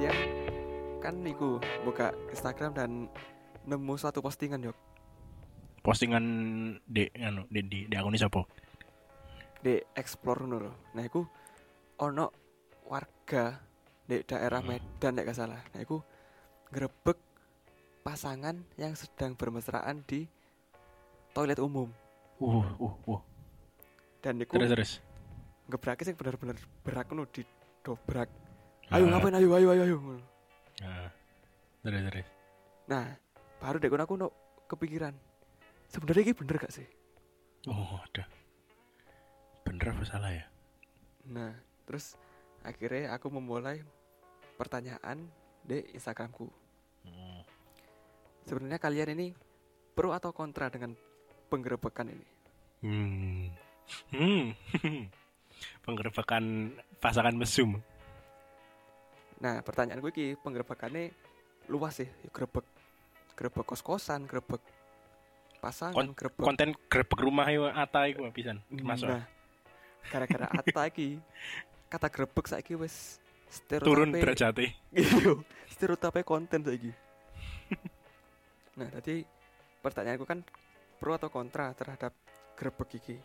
kalian kan niku buka Instagram dan nemu suatu postingan yok Postingan di akun siapa? di explore ngono lho. Nah iku ono warga di daerah Medan nek gak salah. Nah iku ngrebek pasangan yang sedang bermesraan di toilet umum. Dan iku Terus. ngebrake sing bener-bener berak ngono didobrak. Ayo ngapain ayo. Nah, terus. Nah, baru dek aku no kepikiran. Sebenarnya ini bener gak sih? Oh, ada. Bener apa salah ya? Nah, terus akhirnya aku memulai pertanyaan di Instagramku. Sebenarnya kalian ini pro atau kontra dengan penggerebekan ini? Penggerebekan pasangan mesum. Nah, pertanyaan gue ini penggerebekannya luas sih. Grebek kos-kosan, grebek pasangan, grebek konten grebek rumah yo Ata iku pisan. Masuk. Nah, gara-gara Atta iki kata grebek saiki wis stereotipe Turun derajate. Iya, stereotipe konten saiki. Nah, tadi pertanyaanku kan pro atau kontra terhadap grebek iki.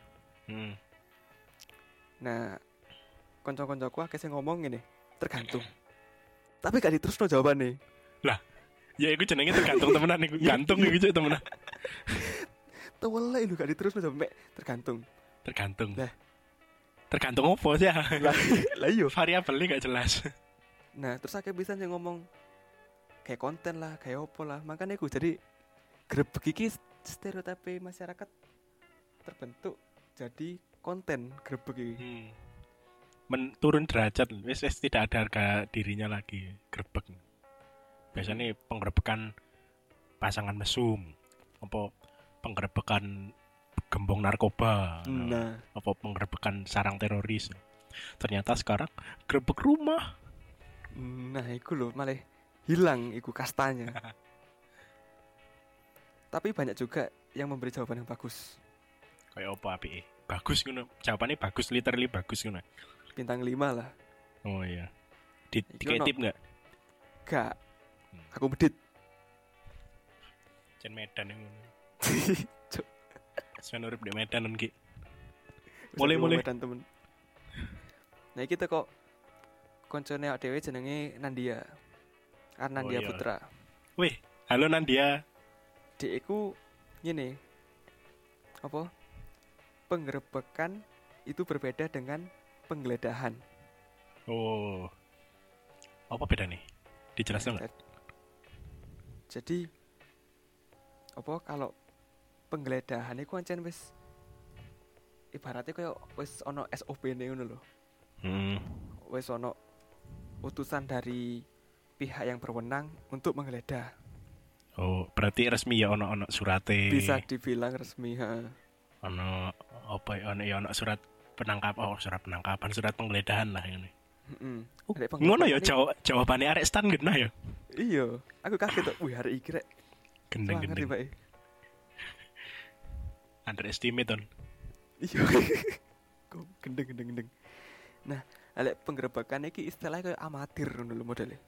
Nah, kanca-kancaku akeh sing ngomong ngene, tergantung. Tapi gak diterusno jawabane. Lah, ya iku jenenge tergantung temenan iku. Gantung iku cuk temenan. Tewele lho gak diterusno jawab tergantung. Tergantung. Lah, tergantung opo sih? lah iya. Variabelnya gak jelas. Nah, terus akeh bisa sing ngomong kayak konten lah, kayak opo lah. Makanya aku jadi grebek iki stereotipe masyarakat terbentuk jadi konten grebek iki. Turun derajat, wis tidak ada harga dirinya lagi grebek. Biasanya penggerebekan pasangan mesum, apa penggerebekan gembong narkoba, apa penggerebekan sarang teroris. Ternyata sekarang grebek rumah. Nah, iku lho malah hilang iku kastanya. Tapi banyak juga yang memberi jawaban yang bagus. Kayak apa apike? Bagus ngono. Jawabannya bagus, literally bagus ngono. Bintang 5 lah. Oh iya. Diketip enggak? Gak. Aku bedit. Jen Medan yang ngono. Sen urip di Medan ki. Mulai. Medan temen. Nah, kita kok koncone awake dhewe jenenge Nandia. Arnandia Putra. Wih, halo Nandia. Dek iku ngene. Apa? Penggerebekan itu berbeda dengan penggeledahan. Oh. Apa bedanya? Dijelaskan enggak? Jadi apa kalau penggeledahan iku ancen wis ibaratnya kayak wis ono SOP-ne ngono lho. Wis ono utusan dari pihak yang berwenang untuk menggeledah. Oh, berarti resmi ya ono surate. Bisa dibilang resmi, ha. Ono apa ya ono surat penangkapan, surat penggeledahan lah ini. Ngono ya jawabannya arek stan genah ya. Iya, aku kaget tuh. Wih, hari iki rek gendeng. Underestimate on. Iya. Kok gendeng. Nah, lek penggerebekan iki istilahnya kayak amatir ngono lho modele.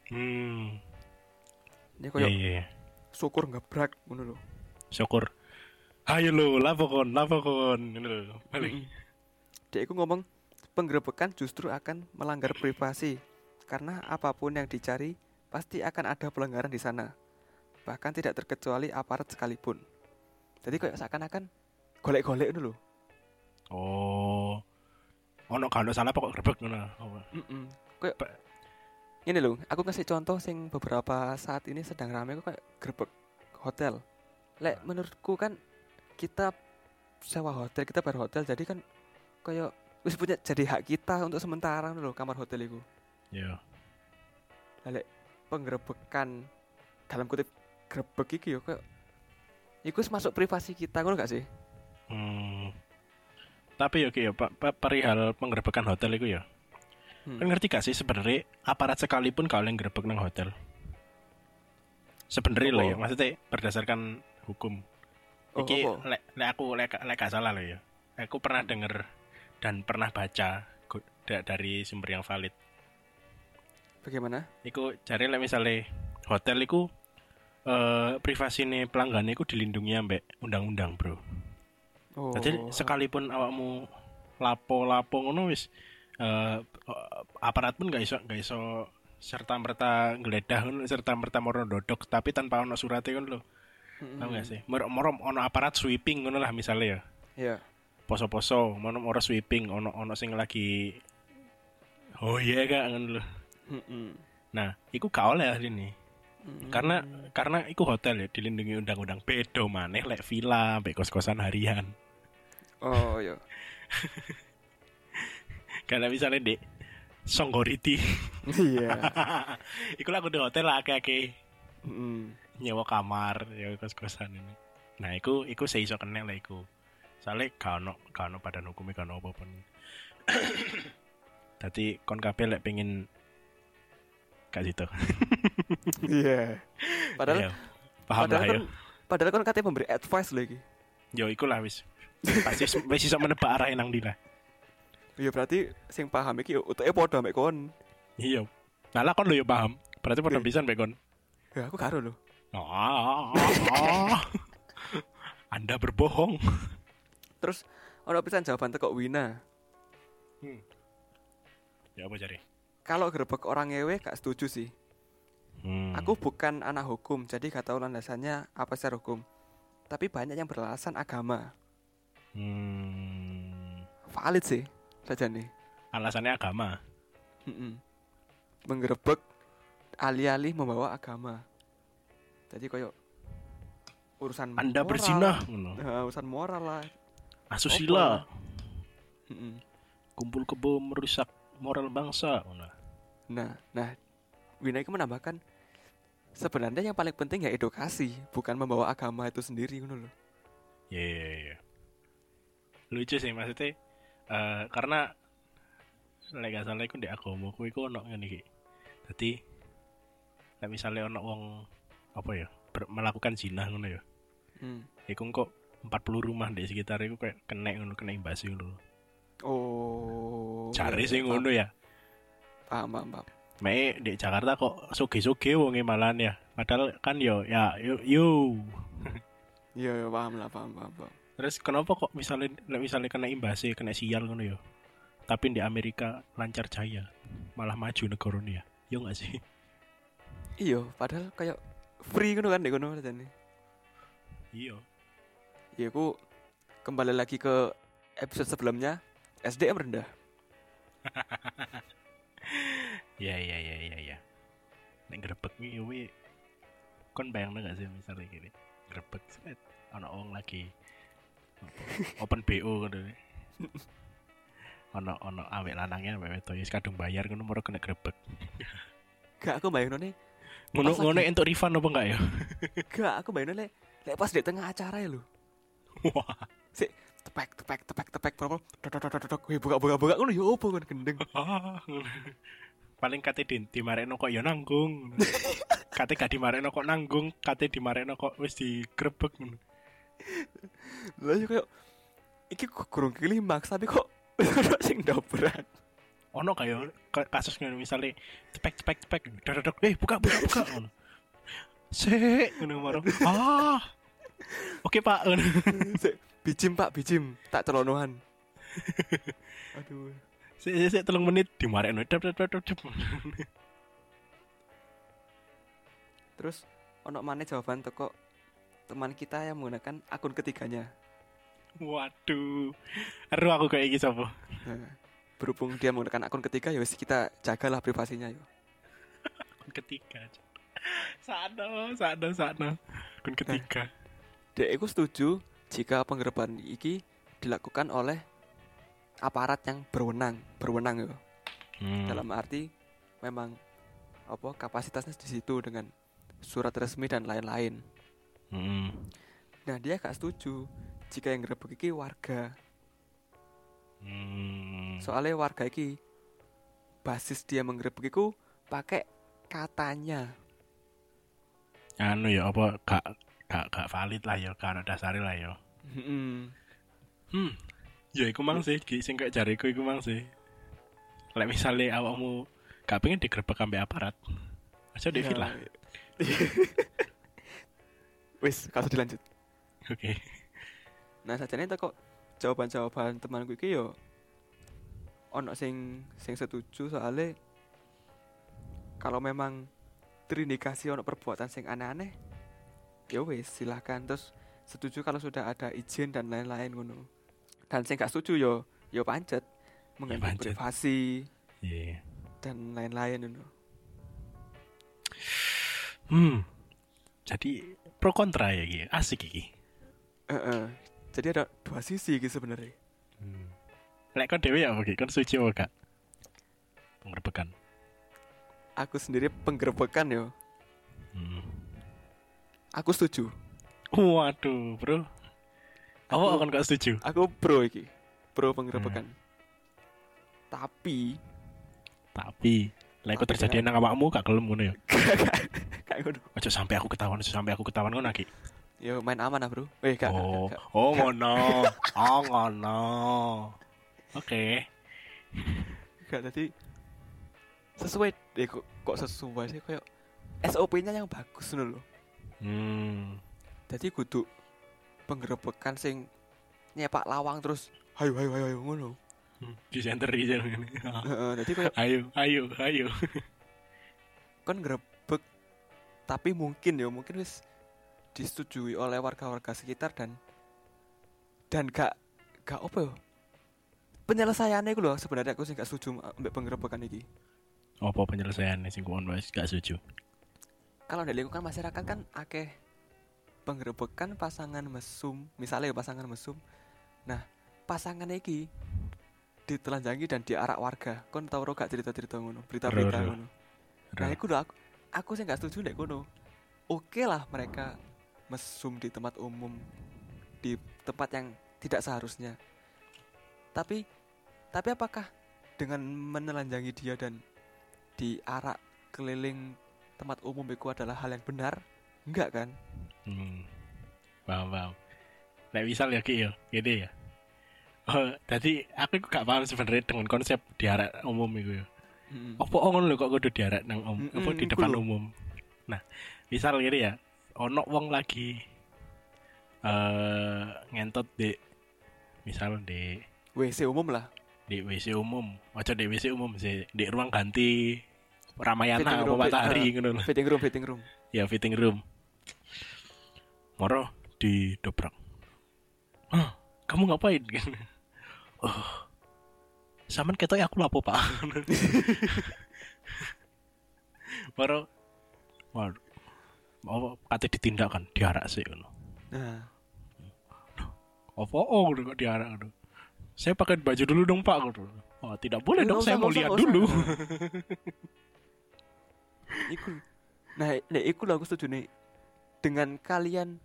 Ini kayak iya. syukur ngebrak ngono lho. Syukur. Ayo lo, lapokon ngono lho. Balik. Dia iku ngomong penggerebekan justru akan melanggar privasi karena apapun yang dicari pasti akan ada pelanggaran di sana. Bahkan tidak terkecuali aparat sekalipun. Jadi kayak seakan-akan golek-golek itu loh. Oh. Ono kalau salah pokok grebek ngono. Kayak ini loh, aku ngasih contoh sing beberapa saat ini sedang ramai kok kayak grebek hotel. Lek menurutku kan kita sewa hotel, kita bayar hotel, jadi kan kayak wis punya jadi hak kita untuk sementara loh kamar hotel itu. Iya. Lek penggerebekan dalam kutip grebek iki yo kayak iku masuk privasi kita ngono gak sih? Tapi oke ya Pak perihal penggerebekan hotel itu ya. Kan ngerti gak sih sebenarnya aparat sekalipun kalau yang grebek nang hotel. Sebenarnya loh ya, maksudnya berdasarkan hukum. Iki lek gak salah loh ya. Aku pernah denger dan pernah baca dari sumber yang valid. Bagaimana? Iku jare lek misale hotel iku privasine pelanggan iku dilindungi ambek undang-undang, Bro. Oh. Jadi sekalipun awakmu lapo-lapo ngono wis aparat pun gak iso serta merta ngeledah ngono serta merta moro dodok tapi tanpa ono surate ngono lho. Paham gak sih? Moro ono aparat sweeping ngono lah misale ya. Iya. Poso-poso, moro sweeping ono sing lagi oh iya gak ngono lho. Nah, iku gak oleh ini. Karena iku hotel ya dilindungi undang-undang bedo maneh lek villa mbek kos-kosan harian. Oh iya. Karena misalnya dek Songgoriti. Iya. Iku lah kudu hotel lah akeh-akeh. Nyewa kamar, ya kos-kosan ini. Nah, iku seiso kena lah iku. Soale gak ono badan hukume gak ono apa-apa. Dadi kon kabeh lek pengin gak situ. Iya. Padahal paham lah ya. Padahal kan katanya memberi advice lagi. Yo iku lah wis. Pasti wis iso menebak arah nang ndi lah. Iya berarti sing paham iki utuke padha mek kon. Iya. Nah lah kon lho yo paham. Berarti padha pisan mek kon. Ya aku karo lho. Anda berbohong. Terus ono pisan jawaban teko Wina. Ya apa cari? Kalau gerbek orang ngewe gak setuju sih. Aku bukan anak hukum, jadi gak tahu landasannya apa secara hukum. Tapi banyak yang beralasan agama. Valid sih saja nih. Alasannya agama. Menggerebek alih-alih membawa agama. Jadi koyo urusan Anda moral, berzinah, urusan moral lah. Asusila. Kumpul kebo merusak moral bangsa. Nah, Wina itu menambahkan sebenarnya yang paling penting ya edukasi, bukan membawa agama itu sendiri ngono loh. Iya. Lucu sih maksudnya karena lek gak salah iku ndek agamaku iku ono ngene iki. Dadi lek misale ono wong apa ya melakukan zina ngono ya. Iku kok 40 rumah di sekitar iku kayak kena imbas ngono. Oh. Cari sih ngono ya. Paham. Mek di Jakarta kok soge-soge wonge malan ya. Padahal kan yo. Iya, paham. Terus kenapa kok misalnya kena imbasnya, kena sial ngono ya. Tapi di Amerika lancar jaya, malah maju negarane ya. Yo enggak sih? Iya, padahal kayak free ngono kan ndek ngono jane. Iya. Ya aku kembali lagi ke episode sebelumnya, SDM rendah. Ya. Nek grebek iki yo kon bayangno gak sih misalnya gini. Grebek set ana wong lagi open BO ngono. Ono awake lanangnya awake wedok wis kadung bayar ngono moro kena grebek. Gak aku bayangno nih. Ngono entuk refund apa enggak ya? Gak aku bayangno lek pas di tengah acara ya lho. Wah. Sik tepek propo. Wih buka ngono yo opo kan gendeng. Paling kate dimarekno kok ya nanggung. Kate gak dimarekno kok nanggung, kate dimarekno kok wis digrebek ngono. Lah yo koyo iki kurang klimaks tapi kok ono sing dobrak. Ono kaya kasus ngono misale cepek dodok buka ngono. Sik ngono maro. Oke Pak. Sik bijim tak celonohan. Aduh. Sik 3 menit dimarekno dep. Terus ono maneh jawaban teko teman kita yang menggunakan akun ketiganya. Waduh. Aduh aku kayak iki sapa? Nah, berhubung dia menggunakan akun ketiga ya wis kita jagalah privasinya yo. Akun ketiga. Sakno. Akun ketiga. Dek aku setuju jika penggerebekan iki dilakukan oleh aparat yang berwenang yo. Dalam arti memang kapasitasnya di situ dengan surat resmi dan lain-lain. Nah dia gak setuju jika yang ngerebek iki warga. Soalnya warga iki basis dia menggerebek iku pakai katanya. Anu ya apa gak valid lah ya, gak ada dasare lah ya. Ya iku mang sih, sing kaya jariku iku mang sih. Lek misale awakmu gak pengen digerebek ambek aparat. Aja di villa. Wis, kalau dilanjut. Oke. Nah, sajane itu kok jawaban-jawaban temanku iki yo ono sing setuju soalnya kalau memang terindikasi ono perbuatan sing aneh-aneh ya wis silahkan, terus setuju kalau sudah ada izin dan lain-lain ngono. Dan sing gak setuju yo pancet mengganggu pancet. privasi Iya. dan lain-lain ngono. Jadi pro kontra ya iki. Asik iki. Jadi ada dua sisi gitu sebenarnya. Lek kon dhewe ya oke, kon setuju apa gak? Penggerbekan. Aku sendiri penggerebekan yo. Aku setuju. Waduh, bro. Aku akan gak setuju. Aku pro iki. Pro penggerebekan. Tapi lek kok terjadi nang awakmu gak gelem ngono ya. Kayak ngono. Aja sampai aku ketahuan ngono iki. Yo main aman lah, Bro. Gak. Ngono. Ngono. Oke. Gak tadi sesuai kok sesuai sih kayak SOP-nya yang bagus ngono lho. Jadi kudu penggerebekan sing nyepak lawang terus hayo ngono. Di center aja ngene. Dadi kayak ayo. Kan grebek tapi mungkin wis disetujui oleh warga-warga sekitar dan gak apa ya penyelesaiannya itu loh sebenarnya aku sih gak setuju ambek penggerebekan iki. Apa penyelesaiannya sing kuon wis gak setuju? Kalau di lingkungan masyarakat kan akeh penggerebekan pasangan mesum, misalnya pasangan mesum. Nah, pasangan iki ditelanjangi dan diarak warga. Kon tau gak cerita-cerita ngono, berita-berita ngono. Nah, iku lho aku sih gak setuju nek ngono. Oke lah mereka mesum di tempat umum, di tempat yang tidak seharusnya. Tapi apakah dengan menelanjangi dia dan diarak keliling tempat umum itu adalah hal yang benar? Enggak kan? Paham. Nek misal ya ki yo, gede ya. Oh, tadi aku gak paham sebenarnya dengan konsep diarak umum itu ya. Apa ngono lho kok kudu diarak nang apa di depan umum. Nah, misal gini ya, ono wong lagi ngentot di misal di WC umum lah. Di WC umum, aja di WC umum sih, di ruang ganti Ramayana apa Matahari ngono lho. Fitting room. Ya, fitting room. Moro didobrak. Kamu ngapain? Saman ketok aku lapo, Pak. Moro mau kate ditindakan diarak sih ngono. Nah. Apa kok diarak ngono? Saya pakai baju dulu dong, Pak. Oh, tidak boleh dong, saya mau lihat dulu. Iku lah aku setuju nih. Dengan kalian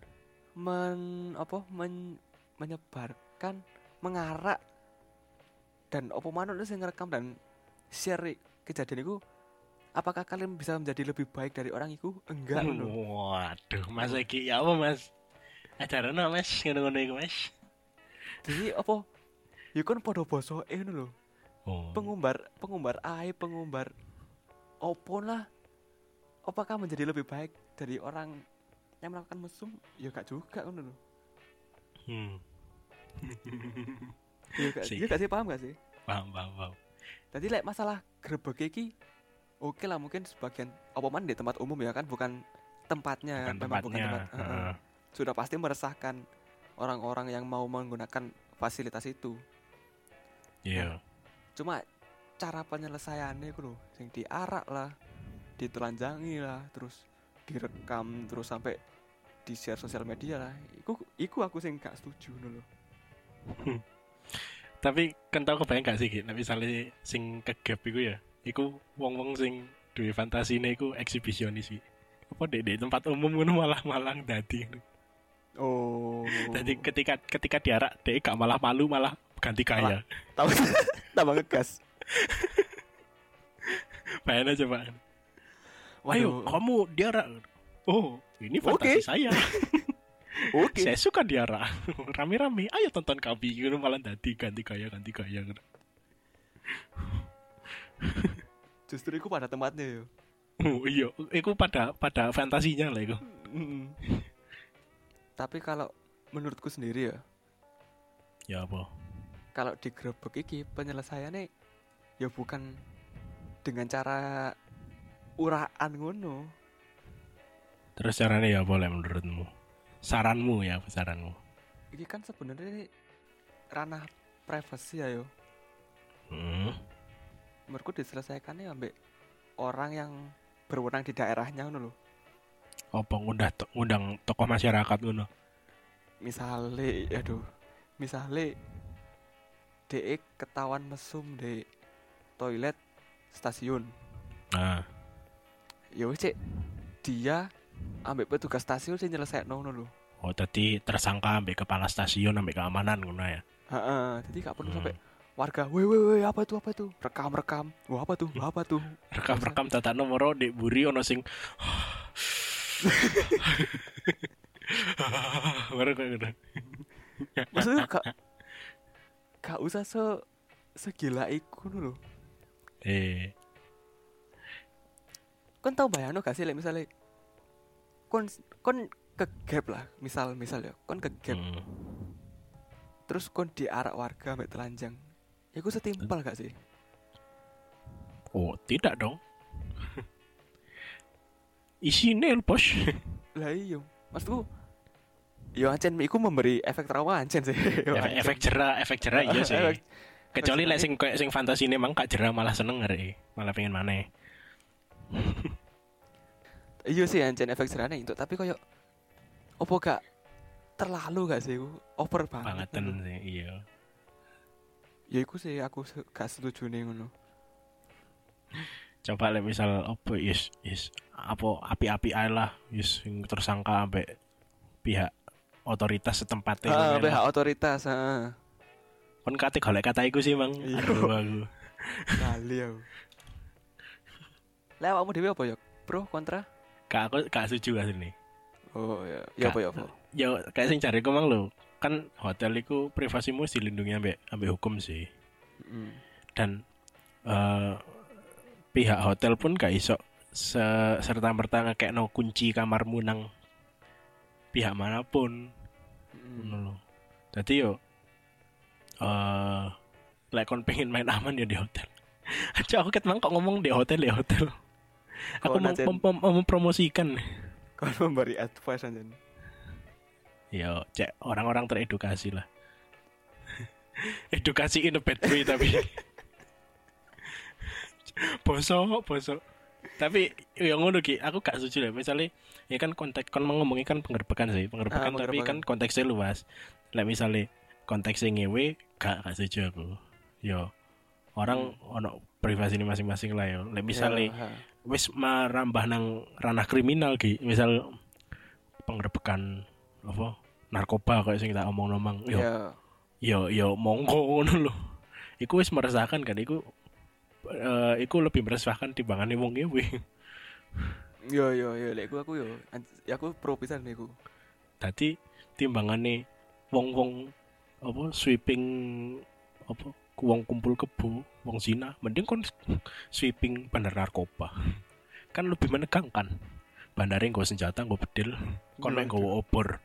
menyebarkan, mengarak dan apa manut sing ngerekam dan share kejadian itu, apakah kalian bisa menjadi lebih baik dari orang itu? Enggak loh. Waduh, Mas iki ya apa, Mas? Acarane Mas ngono-ngono iku, Mas. Jadi apa? Ya kan padha bosoke ngono lho. Pengumbar aib, pengumbar opo lah. Apakah menjadi lebih baik dari orang yang melakukan mesum? Ya gak juga ngono lho. Ya gak sih, paham gak sih? Paham. Tadi lek masalah grebek iki oke lah, mungkin sebagian apa man di tempat umum ya kan, bukan tempatnya. Bukan tempat. Sudah pasti meresahkan orang-orang yang mau menggunakan fasilitas itu. Iya. Cuma cara penyelesaiannya itu loh, yang diarak lah, ditelanjangi lah, terus direkam, terus sampai di share sosial media lah. Iku aku sing gak setuju loh. Tapi kan tau kebayang gak sih gitu, misalnya sing kegap iku ya, iku wong-wong sing duwe fantasine iku eksibisionis sih. Apa di tempat umum ngono malah dadi. Oh. Jadi ketika diarak dia gak malah malu, malah ganti kaya. Tambah ngegas. Bayangin aja, Pak. Ayo, kamu diarak. Oh, ini fantasi saya. Oke. Saya suka diarak. Rame-rame. Ayo tonton kami. Gitu malah ganti kaya gitu. Justru iku pada tempatnya yo. Oh iya, iku pada fantasinya lah iku. Tapi kalau menurutku sendiri ya, Ya apa? kalau digrebek iki penyelesaiannya ya bukan dengan cara uraan ngono. Terus caranya ya apa lah menurutmu? Saranmu ya, apa saranmu? Iki kan sebenarnya ranah privasi ya yo. Menurutku diselesaikannya ambek orang yang berwenang di daerahnya ngono lho. Apa ngundang tokoh masyarakat ngono? Misale DE ketahuan mesum di toilet stasiun. Nah, Ya wis cek dia ambek petugas stasiun sing nyelesaikno ngono lho. oh tadi tersangka ambek kepala stasiun ambek keamanan ngono ya. Heeh, jadi gak perlu sampai warga, weh apa itu? Rekam. Wah, apa tuh? Rekam tata nomor di buri ono sing baru kayak gitu. Maksudnya gak usah segila iku lho. Kon tau bayangno gak sih lek misale kon kegap lah, misal ya, kon kegap. Terus kon diarak warga mek telanjang. Iku setimpal gak sih? Oh, tidak dong. Isine bos. Lah iya, maksudku yo ancen iku memberi efek trauma ancen sih. efek jerah iya sih. Kecuali lek sing koyo sing fantasine mang gak jerah malah seneng arek. Malah pengen maneh. Iya sih ancen efek jerahne itu, tapi koyo opo gak terlalu gak sih iku? Over banget. Bangetan sih, iya. Ya iku sih aku gak setuju nih ngono. Coba lek misal opo yes apa api-api ae lah yes sing tersangka ambek pihak otoritas setempat pihak otoritas, heeh. Kon kate golek kata iku sih, Mang. Aduh aku. Kali aku. Lah awakmu dhewe apa ya? Pro kontra? Aku setuju asline. Oh ya. Ya apa? Ya kayak sing cariku mang lho. Kan hotel iku privasimu dilindungi ambek hukum sih. Dan pihak hotel pun gak iso serta merta ngekekno kunci kamarmu nang pihak manapun. Ngono lho. Dadi yo lek kon pengen main aman ya di hotel. Aja aku ket mang kok ngomong di hotel. Aku mau mempromosikan. Kau memberi advice aja. Ya, cek orang-orang teredukasi lah. Edukasi in a bad way tapi bosok. Tapi yang ngono ki, aku gak setuju lah. Misalnya, ya kan konteks kon ngomongin kan penggerbekan sih, tapi kan konteksnya luas. Lah misalnya konteksnya ngewe, gak setuju aku. Yo, orang ono privasi ini masing-masing lah yo. Lah misalnya wis merambah nang ranah kriminal ki, misal penggerbekan apa narkoba kayak sing tak omong-omong yo monggo ngono lho. Iku wis meresahkan kan iku lebih meresahkan timbangane wong ngewe. Yo lek aku pro pisan niku. Dadi timbangane wong apa sweeping apa wong kumpul kebo, wong zina, mending kon sweeping bandar narkoba. Kan lebih menegangkan. Bandare nggo senjata, nggo bedil, kon mek nggowo obor.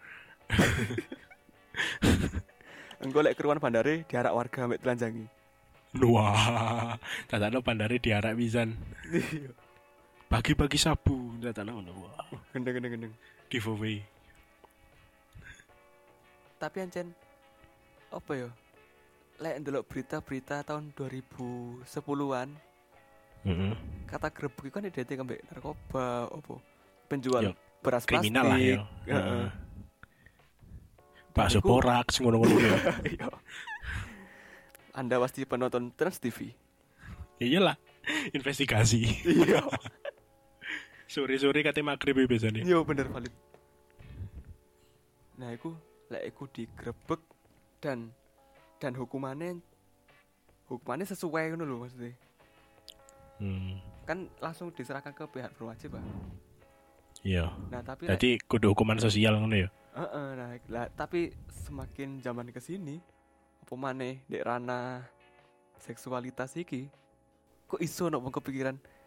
Engko lek keruan bandare diarak warga mek telanjangi. Wah, tatane bandare diarak pisan. Bagi-bagi sabu, tatane ngono. Wah, gendeng. Giveaway. Tapi ancen apa ya? Lek ndelok berita-berita tahun 2010-an. Kata grebek kan identik ambek narkoba opo? Penjual beras kriminal plastik. Lah ya. Bakso porak ngono-ngono ya. Anda pasti penonton Trans TV. Iyalah, investigasi. Iya. Sore-sore kate magrib biasanya. Iya bener valid. Nah, lek iku digrebek dan hukumannya sesuai ngono lho maksudnya. Kan langsung diserahkan ke pihak berwajib, Pak. Iya. Nah, tapi jadi kudu hukuman sosial ngono ya. Nah, tapi semakin zaman ke sini apa maneh dek ranah seksualitas iki kok iso nek kepikiran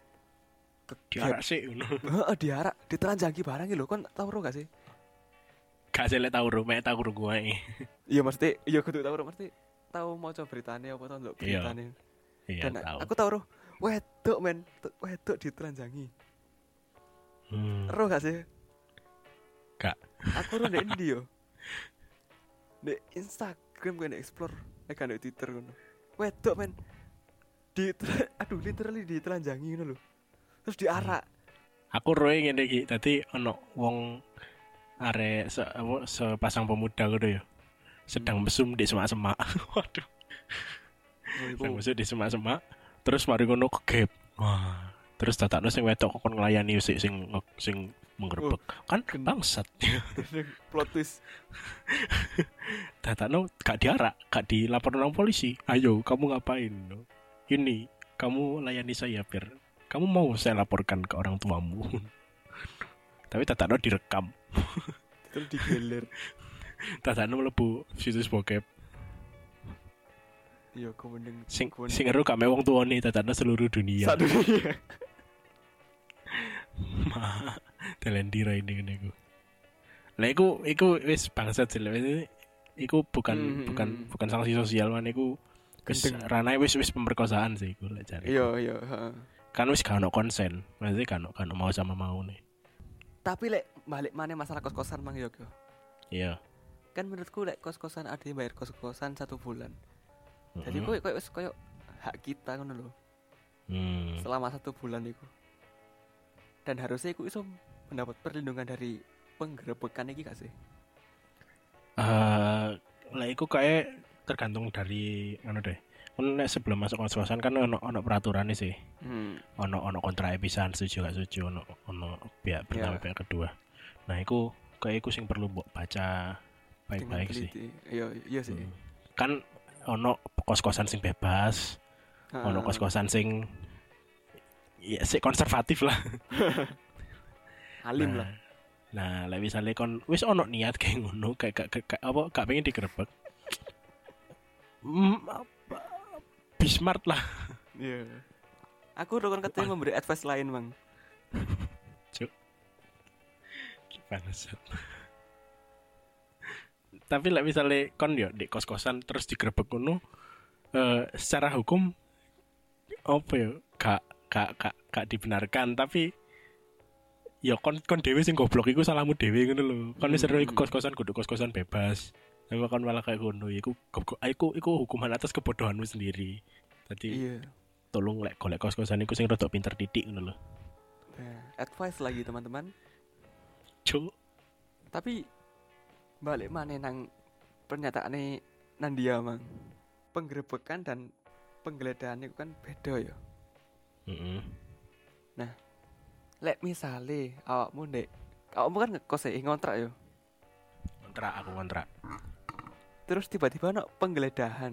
Diarak sih ngono. Heeh, diarak, ditelanjangi barang lho, kon tau ro gak sih? Gak selek tau ro, mek tau krungu ae. Iya mesti, iya kudu tau ro, mesti tau maca beritane apa tau ndelok Iya. beritane. Iya Dan tau. aku tau ro, wedok men, wedok ditelanjangi. Ro gak sih? Gak. Aku ro ndek endi yo? Ndek Instagram kan explore, nek kan ndek Twitter ngono. Wedok men. Aduh literally ditelanjangi ngono lho. Terus diarak. Aku roe ngene iki, dadi ono wong arek sepasang pemuda ngono ya. Sedang mesum di semak-semak. Waduh. Sedang mesum di semak-semak, terus mari ngono kegep. Wah, terus tatakno sing wedok kon nglayani sing menggerebek. Kan bangsat. Plot twist. Tatakno gak diarak, gak dilaporkan nang polisi. Ayo, kamu ngapain? Ini, kamu layani saya biar kamu mau saya laporkan ke orang tuamu. Tapi tatakno direkam. Terus digeler. Tatakno mlebu situs bokep. Iya, kemudian Sing ero gak me wong tuane, tatakno seluruh dunia. Satu dunia. Telendira ini ngene iku. Lah iku wis bangsat sih. Iku bukan sanksi sosial man iku wis ranah wis pemerkosaan sih iku lek jare. Iya, heeh. Kan wis gak ono konsen, maksudnya gak ono mau sama mau nih. Tapi lek balik mana masalah kos-kosan mang yo. Iya. Kan menurutku lek kos-kosan ada yang bayar kos-kosan 1 bulan. Jadi koyo wis koyo hak kita ngono lho. Selama 1 bulan iku. Dan harusnya iku iso mendapat perlindungan dari penggerebekan iki gak sih? Lah iku kayak tergantung dari anu deh. Kan sebelum masuk kos-kosan kan ono peraturannya sih. Ono kontrak pisan setuju gak setuju ono pihak pertama pihak kedua. Nah, iku kayak iku sing perlu mbok baca baik-baik sih. Iya sih. Kan ono kos-kosan sing bebas. Ono kos-kosan sing ya sik konservatif lah. Alim lah. Nah, lek misale kon wis ono niat kayak ngono, kayak apa gak pengen digerebek. Bismart lah. Iya. Aku udah katanya memberi advice lain, Bang. Cuk. Bangsat. Tapi lek misale kon yo di kos-kosan terus digerebek ngono, secara hukum apa ya? Gak dibenarkan, tapi ya kon dhewe sing goblok iku salahmu dhewe ngono lho. Kon wis ero iku kos-kosan kudu kos-kosan bebas. Tapi kon malah kayak ngono iku hukuman atas kebodohanmu sendiri. Jadi tolong lek golek kos-kosan iku sing rada pinter titik ngono lho. Nah, advice lagi teman-teman. Cuk. Tapi balik mana nang pernyataane Nandia Mang. Penggerebekan dan penggeledahan itu kan beda ya. Nah, lek misale awakmu kan ngekos ngontrak ya. Aku kontrak. Terus tiba-tiba ono penggeledahan.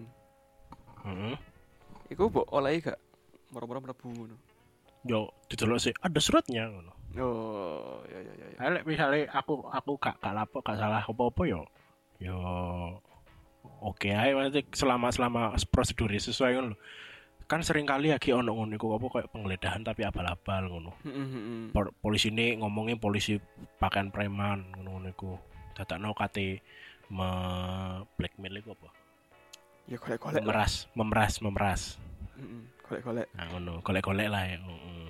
Iku mbok olehi gak moro-moro mlebu ngono. Yo didelok sih ada suratnya ngono. Oh, ya. Lek misale aku gak lapo gak salah apa-apa yo oke ae maksudnya selama prosedurnya sesuai ngono. Kan sering kali lagi ono ngono iku apa kayak penggeledahan tapi abal-abal ngono. Polisi ini ngomongin polisi pakaian preman ngono iku. Dadakno kate blackmail iku apa? Ya golek-golek. Memeras. Golek-golek. Nah ngono, golek-golek lah ya.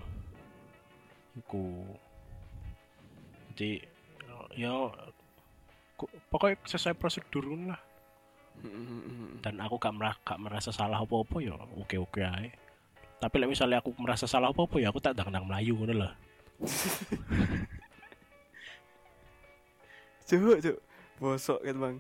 Iku. Jadi ya pokoknya sesuai prosedur lah. Dan aku gak merasa salah apa-apa ya oke-oke aja. Tapi lek misalnya aku merasa salah apa-apa ya aku tak ndang melayu ngono lho. Cuk. Bosok kan, Bang.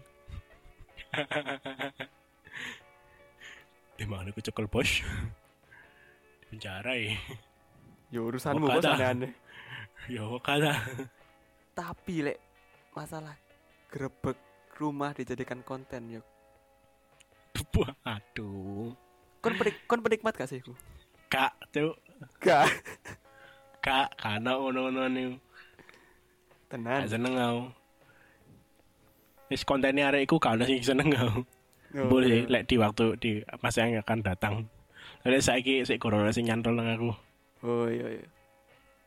Di mana aku cekel bos? Di penjara ya. Ya urusanmu bos aneh-aneh. Ya kata. Tapi lek masalah grebek rumah dijadikan konten yuk. Aduh. Kon penikmat gak sih ku? Kak, tuh. Gak. Karena ono-ono nih. Tenan. Gak seneng aku. Wis kontennya arek iku gak ono sing seneng aku. Boleh lek di masa yang akan datang. Lek saiki sik corona sing nyantol nang aku. Oh iya.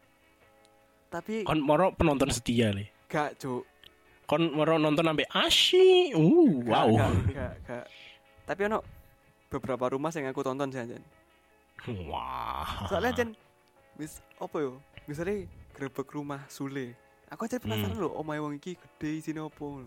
Tapi Kon moro penonton setia le. gak, Cuk. Kon moro nonton sampai asyik. Wow. Gak. Tapi ono beberapa rumah yang aku tonton sih anjen. Wah. Soalnya anjen wis apa yo? Misalnya grebek rumah Sule. Aku aja penasaran lho, omahe wong iki gede isine opo.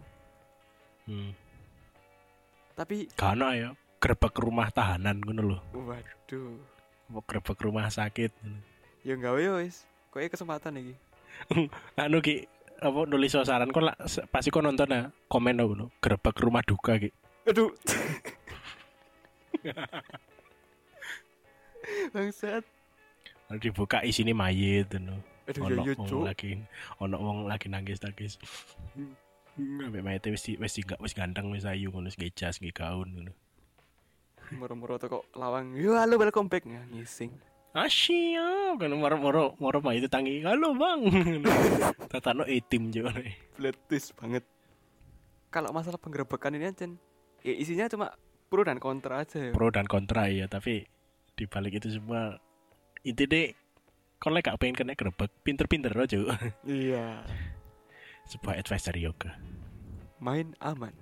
Tapi Kana ya grebek rumah tahanan ngono lho. waduh, Apa grebek rumah sakit. ya gawe yo wis. Koe kesempatan iki. Anu ki apa nulis saran kon pasti kon nonton ya komen ngono grebek rumah duka ki. Aduh. Bangsat. Dibuka isine mayit ngono. Aduh Ono yo wong lagi nangis. Ambek mayite wis ganteng wis ayu ngono wis jas nggih gaun ngono. Moro-moro kok lawang. Yo halo welcome back ngising. Asyik kan moro mayite tangi. Halo Bang. Tatano etim jo. Fletis banget. Kalau masalah penggerebekan ini aja, ya isinya cuma pro dan kontra aja ya. Pro dan kontra ya, tapi di balik itu semua intinya kon lek gak pengen kena grebek, pinter-pinter aja. Iya. Sebuah advice dari yoga. Main aman.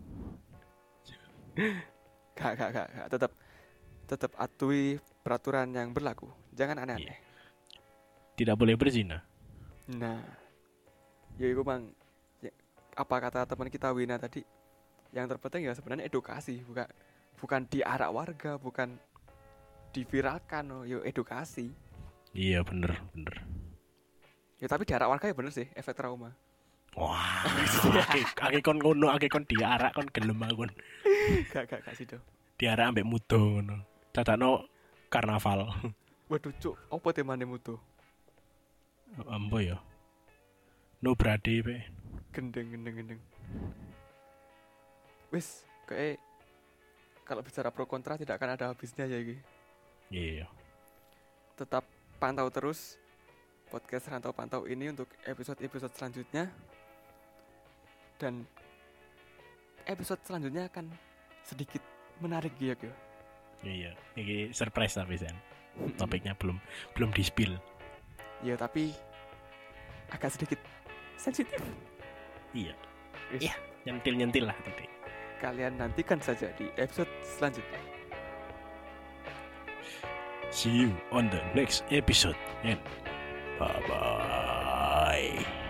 Gak. Tetap atuhi peraturan yang berlaku. Jangan aneh-aneh. Tidak boleh berzina. Nah, ya itu bang. Ya, apa kata teman kita Wina tadi? Yang terpenting ya sebenarnya edukasi, bukan diarak warga, bukan diviralkan, yo edukasi. Iya bener. Ya tapi diarak warga ya bener sih, efek trauma. Wah, ake kon ngono, ake kon diarak kon gelem aku. Gak sih do. Diarak ambek mudo ngono. Dadakno karnaval. Waduh cuk, apa temane mutu? Ambo ya. No brade pe. Gendeng. Wis, kayak kalau bicara pro kontra tidak akan ada habisnya ya iki. Iya. Tetap pantau terus podcast Rantau Pantau ini untuk episode-episode selanjutnya. Dan episode selanjutnya akan sedikit menarik ya. Iya, ini surprise tapi Sen. Topiknya belum di-spill. Ya tapi agak sedikit sensitif. Iya. Yes. Iya, nyentil lah tadi. Kalian nantikan saja di episode selanjutnya. See you on the next episode and bye-bye.